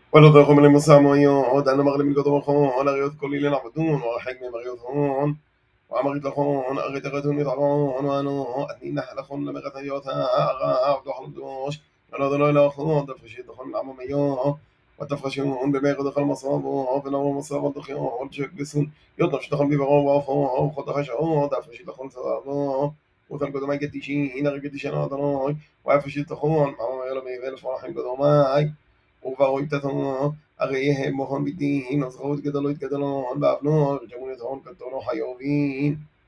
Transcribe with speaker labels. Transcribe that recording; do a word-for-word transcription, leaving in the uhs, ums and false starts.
Speaker 1: ולא תלכו למסעמויות, אנו מרלים מלכות ומכון, אריות כל אילן עבדון, ורחק מהם אריות הון. ואמרית לכון, ארית ארתון מתערון, ואנו, אתנינה לכון למרת היות הערב, תאכל קדוש, ולא דלוי לכון, תפרשית לכון לעממיו, ותפרשון במרד לכל מסרבו, ונאמר מסרב על תחיו, ולשקבסון, יודף שתכל ביברו ועפו, וכל תחשו, תפרשית לכון סרבו, ותל קדומי קדישין, הרי קדישן אדוני, ואפרשית לכון, מעממי אלוהי ואלף מלאכים קדומי, וברוי תתנו, הרי הם מוהון בדין, אז ראו יתגדלו יתגדלו, באבנו, ירג'מון יתהון כתונו חיובין.